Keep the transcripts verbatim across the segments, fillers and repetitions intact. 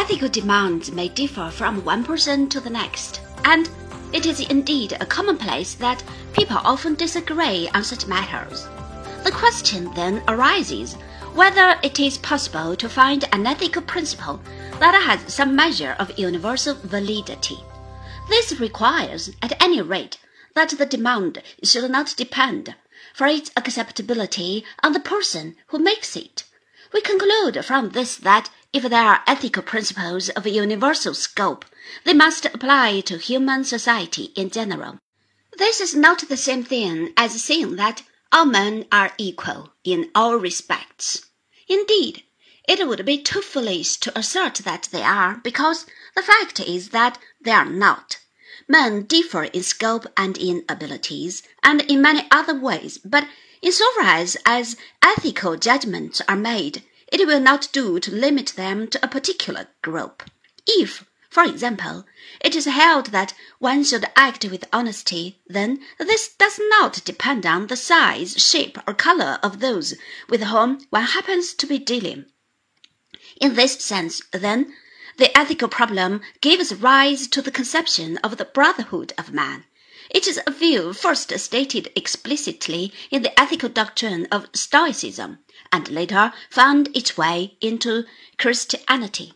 Ethical demands may differ from one person to the next, and it is indeed a commonplace that people often disagree on such matters. The question then arises whether it is possible to find an ethical principle that has some measure of universal validity. This requires, at any rate, that the demand should not depend, for its acceptability, on the person who makes it. We conclude from this that if there are ethical principles of universal scope, they must apply to human society in general. This is not the same thing as saying that all men are equal in all respects. Indeed, it would be too foolish to assert that they are, because the fact is that they are not. Men differ in scope and in abilities, and in many other ways, but insofar as, as ethical judgments are made, it will not do to limit them to a particular group. If, for example, it is held that one should act with honesty, then this does not depend on the size, shape, or color of those with whom one happens to be dealing. In this sense, then, the ethical problem gives rise to the conception of the brotherhood of man. It is a view first stated explicitly in the ethical doctrine of Stoicism, and later found its way into Christianity.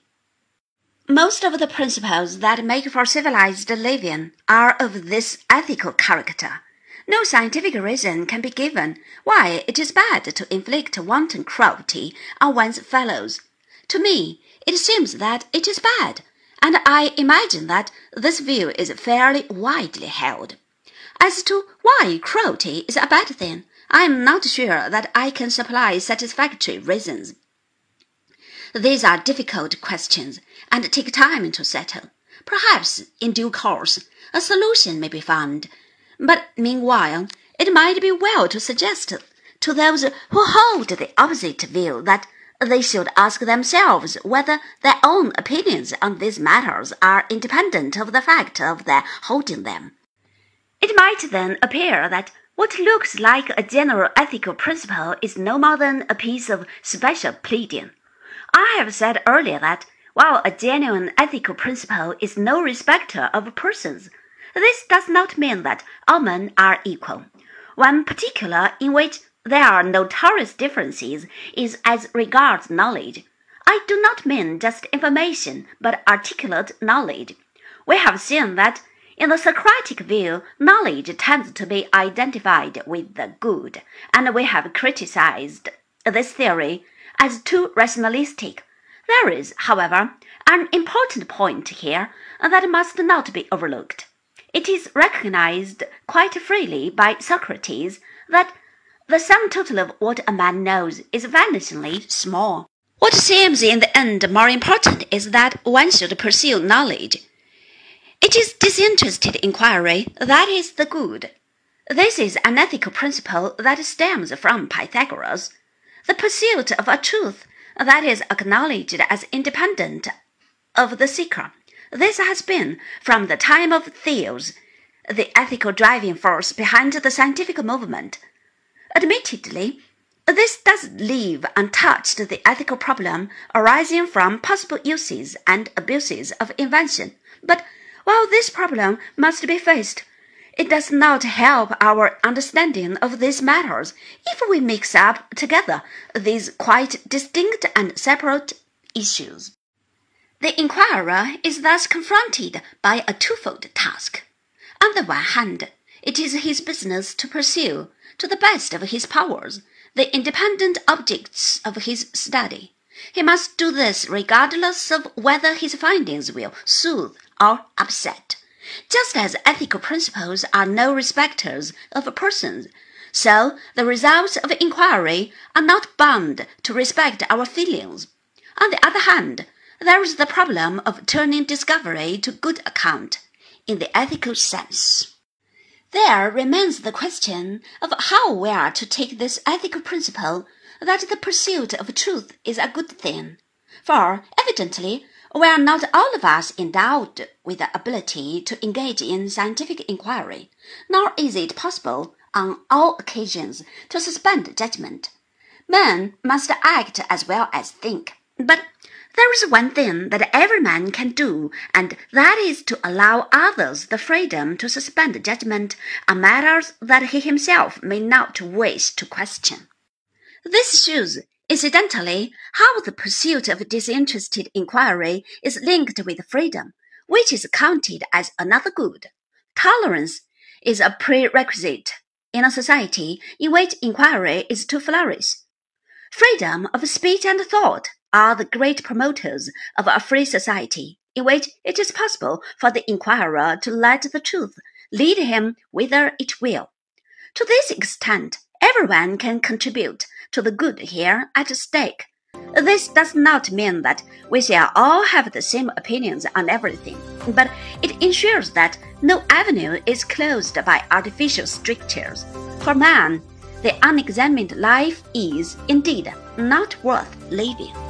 Most of the principles that make for civilized living are of this ethical character. No scientific reason can be given why it is bad to inflict wanton cruelty on one's fellows. To me, it seems that it is bad, and I imagine that this view is fairly widely held. As to why cruelty is a bad thing, I am not sure that I can supply satisfactory reasons. These are difficult questions, and take time to settle. Perhaps, in due course, a solution may be found. But meanwhile, it might be well to suggest to those who hold the opposite view that they should ask themselves whether their own opinions on these matters are independent of the fact of their holding them. It might then appear that what looks like a general ethical principle is no more than a piece of special pleading. I have said earlier that, while a genuine ethical principle is no respecter of persons, this does not mean that all men are equal. One particular in which there are notorious differences is as regards knowledge. I do not mean just information, but articulate knowledge. We have seen that in the Socratic view, knowledge tends to be identified with the good, and we have criticized this theory as too rationalistic. There is, however, an important point here that must not be overlooked. It is recognized quite freely by Socrates that the sum total of what a man knows is vanishingly small. What seems in the end more important is that one should pursue knowledge. It is disinterested inquiry that is the good. This is an ethical principle that stems from Pythagoras. The pursuit of a truth that is acknowledged as independent of the seeker. This has been, from the time of Thales, the ethical driving force behind the scientific movement. Admittedly, this does leave untouched the ethical problem arising from possible uses and abuses of invention, but while this problem must be faced, it does not help our understanding of these matters if we mix up together these quite distinct and separate issues. The inquirer is thus confronted by a twofold task. On the one hand, it is his business to pursue, to the best of his powers, the independent objects of his study. He must do this regardless of whether his findings will soothe or upset. Just as ethical principles are no respecters of persons, so the results of inquiry are not bound to respect our feelings. On the other hand, there is the problem of turning discovery to good account, in the ethical sense. There remains the question of how we are to take this ethical principle that the pursuit of truth is a good thing. For, evidently, we are not all of us endowed with the ability to engage in scientific inquiry, nor is it possible, on all occasions, to suspend judgment. Men must act as well as think, but There is one thing that every man can do, and that is to allow others the freedom to suspend judgment on matters that he himself may not wish to question. This shows, incidentally, how the pursuit of disinterested inquiry is linked with freedom, which is counted as another good. Tolerance is a prerequisite in a society in which inquiry is to flourish. Freedom of speech and thought are the great promoters of a free society, in which it is possible for the inquirer to let the truth lead him whither it will. To this extent, everyone can contribute to the good here at stake. This does not mean that we shall all have the same opinions on everything, but it ensures that no avenue is closed by artificial strictures. For man, the unexamined life is, indeed, not worth living.